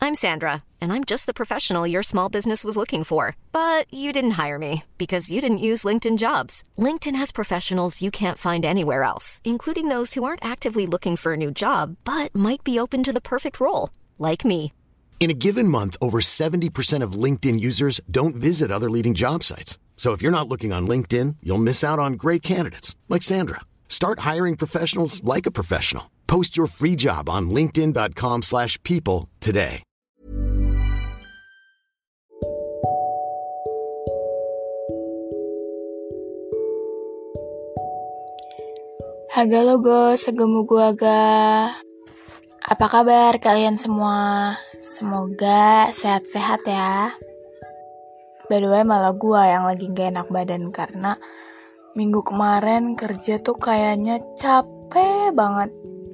I'm Sandra, and I'm just the professional your small business was looking for. But you didn't hire me because you didn't use LinkedIn Jobs. LinkedIn has professionals you can't find anywhere else, including those who aren't actively looking for a new job, but might be open to the perfect role, like me. In a given month, over 70% of LinkedIn users don't visit other leading job sites. So if you're not looking on LinkedIn, you'll miss out on great candidates like Sandra. Start hiring professionals like a professional. Post your free job on linkedin.com/people today. Haga logo, segemu gua aga. Apa kabar kalian semua? Semoga sehat-sehat ya. By the way, malah gua yang lagi gak enak badan karena minggu kemarin kerja tuh kayaknya capek banget.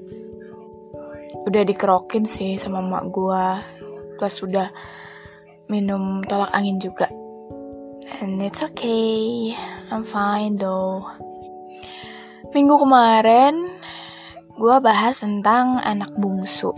Udah dikerokin sih sama emak gua, plus udah minum tolak angin juga. And it's okay, I'm fine though. Minggu kemarin gue bahas tentang anak bungsu.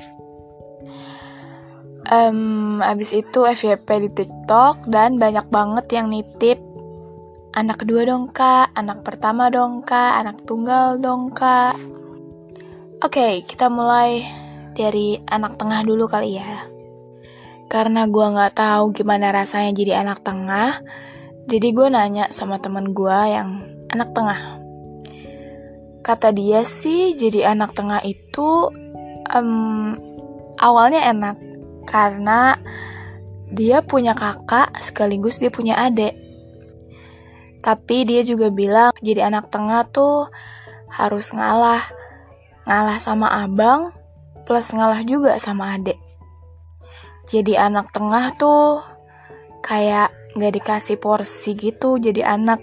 Abis itu FYP di TikTok dan banyak banget yang nitip anak kedua dong kak, anak pertama dong kak, anak tunggal dong kak. Oke, kita mulai dari anak tengah dulu kali ya. Karena gue gak tahu gimana rasanya jadi anak tengah, jadi gue nanya sama temen gue yang anak tengah. Kata dia sih jadi anak tengah itu awalnya enak karena dia punya kakak sekaligus dia punya adik. Tapi dia juga bilang jadi anak tengah tuh harus ngalah sama abang plus ngalah juga sama adik. Jadi anak tengah tuh kayak gak dikasih porsi gitu jadi anak.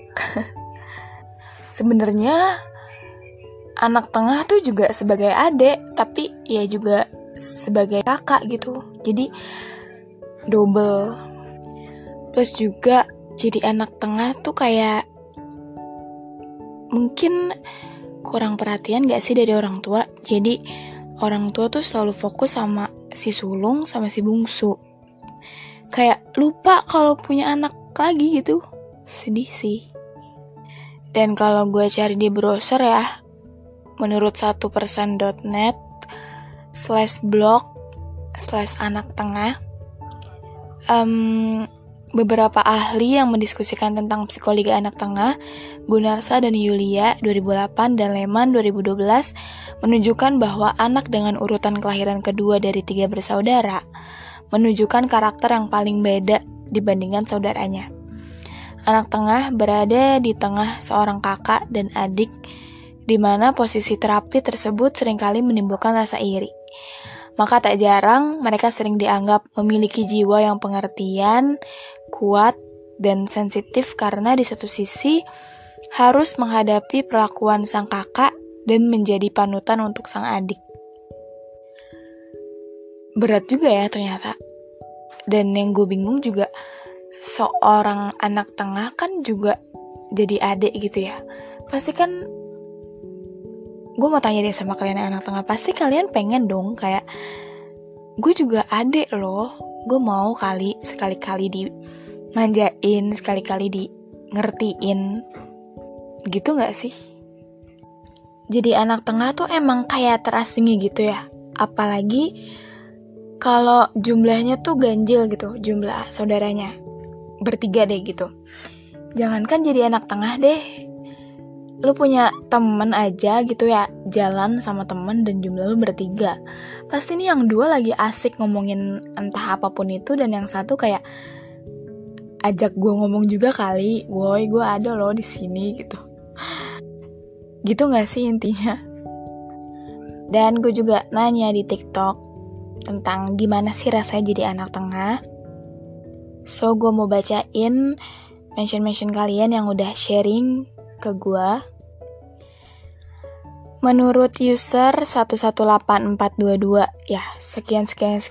Sebenarnya anak tengah tuh juga sebagai adik, tapi ya juga sebagai kakak gitu. Jadi double. Plus juga jadi anak tengah tuh kayak mungkin kurang perhatian gak sih dari orang tua. Jadi orang tua tuh selalu fokus sama si sulung sama si bungsu. Kayak lupa kalau punya anak lagi gitu. Sedih sih. Dan kalau gue cari di browser ya, menurut 1persen.net/blog/anak tengah, beberapa ahli yang mendiskusikan tentang psikologi anak tengah, Gunarsa dan Yulia 2008 dan Lehman 2012, menunjukkan bahwa anak dengan urutan kelahiran kedua dari 3 bersaudara menunjukkan karakter yang paling beda dibandingkan saudaranya. Anak tengah berada di tengah seorang kakak dan adik, di mana posisi terapi tersebut seringkali menimbulkan rasa iri. Maka tak jarang mereka sering dianggap memiliki jiwa yang pengertian, kuat, dan sensitif karena di satu sisi harus menghadapi perlakuan sang kakak dan menjadi panutan untuk sang adik. Berat juga ya ternyata. Dan yang gue bingung juga, seorang anak tengah kan juga jadi adik gitu ya. Pasti kan, gue mau tanya deh sama kalian yang anak tengah, pasti kalian pengen dong kayak gue juga adik loh, gue mau kali sekali-kali dimanjain, sekali-kali di ngertiin gitu gak sih? Jadi anak tengah tuh emang kayak terasingi gitu ya, apalagi kalau jumlahnya tuh ganjil gitu, jumlah saudaranya bertiga deh gitu. Jangankan jadi anak tengah deh, lu punya temen aja gitu ya, jalan sama temen dan jumlah lu bertiga, pasti nih yang dua lagi asik ngomongin entah apapun itu, dan yang satu kayak ajak gue ngomong juga kali, woi gue ada loh di sini gitu. Gitu nggak sih intinya? Dan gue juga nanya di TikTok tentang gimana sih rasanya jadi anak tengah. So gue mau bacain mention kalian yang udah sharing ke gue. Menurut user 118422, ya sekian,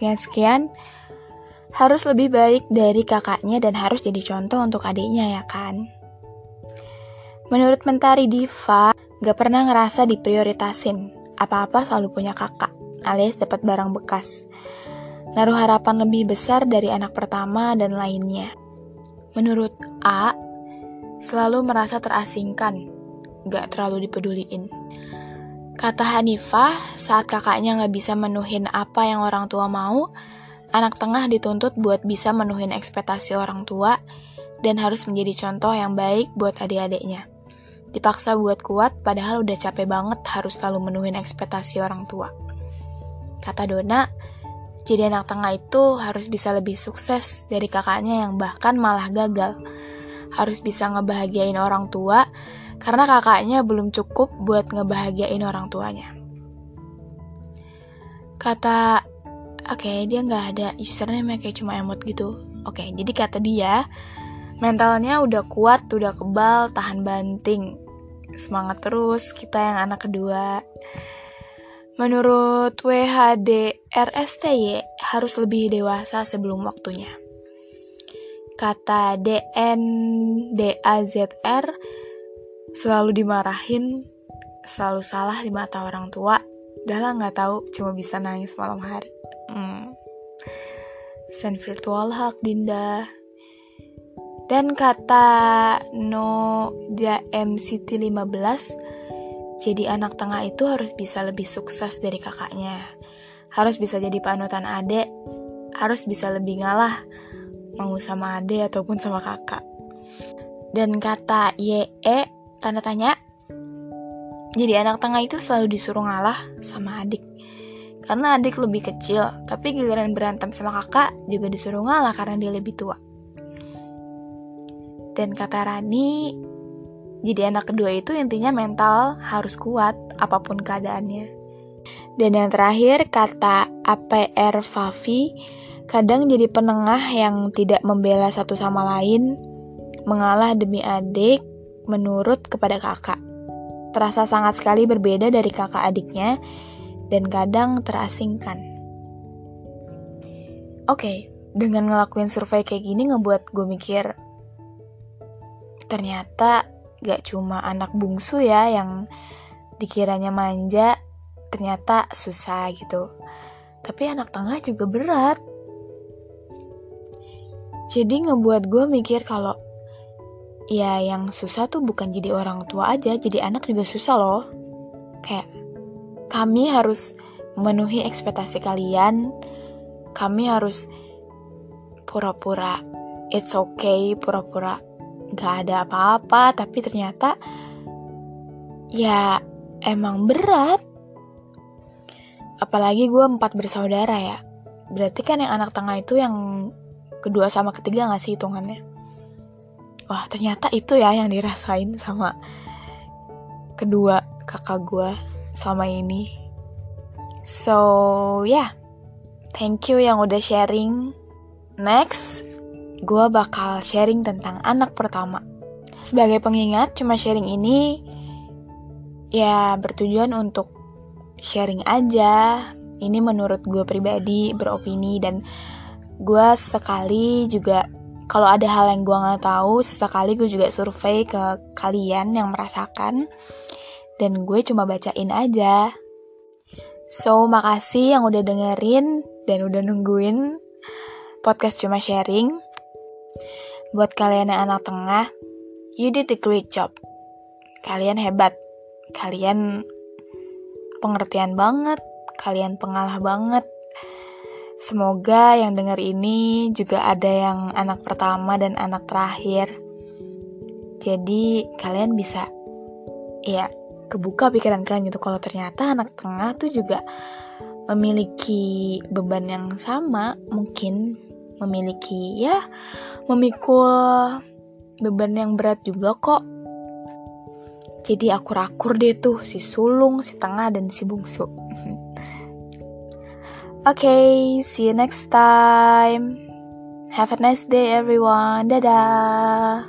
harus lebih baik dari kakaknya dan harus jadi contoh untuk adiknya ya kan. Menurut Mentari Diva, gak pernah ngerasa diprioritasin, apa-apa selalu punya kakak, alias dapat barang bekas. naruh harapan lebih besar dari anak pertama dan lainnya. Menurut A, selalu merasa terasingkan, gak terlalu dipeduliin. Kata Hanifah, saat kakaknya gak bisa menuhin apa yang orang tua mau, anak tengah dituntut buat bisa menuhin ekspektasi orang tua dan harus menjadi contoh yang baik buat adik-adiknya. Dipaksa buat kuat padahal udah capek banget harus selalu menuhin ekspektasi orang tua. Kata Dona, jadi anak tengah itu harus bisa lebih sukses dari kakaknya yang bahkan malah gagal. Harus bisa ngebahagiain orang tua karena kakaknya belum cukup buat ngebahagiain orang tuanya. Kata, oke, dia gak ada username kayak cuma emot gitu. Oke, jadi kata dia, mentalnya udah kuat, udah kebal, tahan banting. Semangat terus, kita yang anak kedua. Menurut WHDRSTY, harus lebih dewasa sebelum waktunya. Kata DNDAZR, selalu dimarahin, selalu salah di mata orang tua. Udah lah gak tahu, cuma bisa nangis malam hari. Send virtual hug, Dinda. Dan kata NoJMCT15, jadi anak tengah itu harus bisa lebih sukses dari kakaknya. Harus bisa jadi panutan adik, harus bisa lebih ngalah, mau sama adik ataupun sama kakak. Dan kata YE, tanda tanya, jadi anak tengah itu selalu disuruh ngalah sama adik. Karena adik lebih kecil, tapi giliran berantem sama kakak juga disuruh ngalah karena dia lebih tua. Dan kata Rani, jadi anak kedua itu intinya mental harus kuat apapun keadaannya. Dan yang terakhir kata APR Favi, kadang jadi penengah yang tidak membela satu sama lain, mengalah demi adik, menurut kepada kakak. Terasa sangat sekali berbeda dari kakak adiknya dan kadang terasingkan. Oke, dengan ngelakuin survei kayak gini ngebuat gue mikir, ternyata gak cuma anak bungsu ya yang dikiranya manja, ternyata susah gitu. Tapi anak tengah juga berat. Jadi ngebuat gue mikir kalau ya yang susah tuh bukan jadi orang tua aja, jadi anak juga susah loh. Kayak kami harus memenuhi ekspektasi kalian, kami harus pura-pura it's okay, pura-pura gak ada apa-apa, tapi ternyata ya emang berat. Apalagi gue 4 bersaudara ya. Berarti kan yang anak tengah itu yang kedua sama ketiga gak sih hitungannya? Wah, ternyata itu ya yang dirasain sama kedua kakak gue selama ini. So yeah, thank you yang udah sharing. Next, gue bakal sharing tentang anak pertama. Sebagai pengingat, cuma sharing ini ya bertujuan untuk sharing aja. Ini menurut gue pribadi, beropini, dan gue sekali juga kalau ada hal yang gue gak tahu, sesekali gue juga survei ke kalian yang merasakan, dan gue cuma bacain aja. So, makasih yang udah dengerin dan udah nungguin podcast Cuma Sharing. Buat kalian yang anak tengah, you did a great job. Kalian hebat. Kalian pengertian banget. Kalian pengalah banget. Semoga yang denger ini juga ada yang anak pertama dan anak terakhir. Jadi kalian bisa ya kebuka pikiran kalian gitu kalau ternyata anak tengah tuh juga memiliki beban yang sama, mungkin memiliki ya memikul beban yang berat juga kok. Jadi akur-akur deh tuh si sulung, si tengah, dan si bungsu. Okay, see you next time. Have a nice day everyone. Dadah.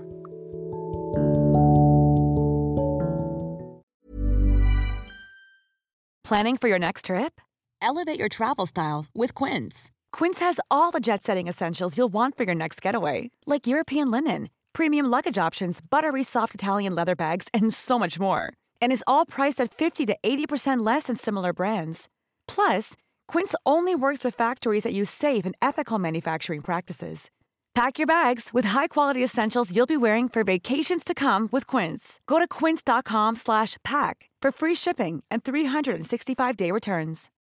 Planning for your next trip? Elevate your travel style with Quince. Quince has all the jet-setting essentials you'll want for your next getaway, like European linen, premium luggage options, buttery soft Italian leather bags, and so much more. And is all priced at 50 to 80% less than similar brands. Plus, Quince only works with factories that use safe and ethical manufacturing practices. Pack your bags with high-quality essentials you'll be wearing for vacations to come with Quince. Go to quince.com/pack for free shipping and 365-day returns.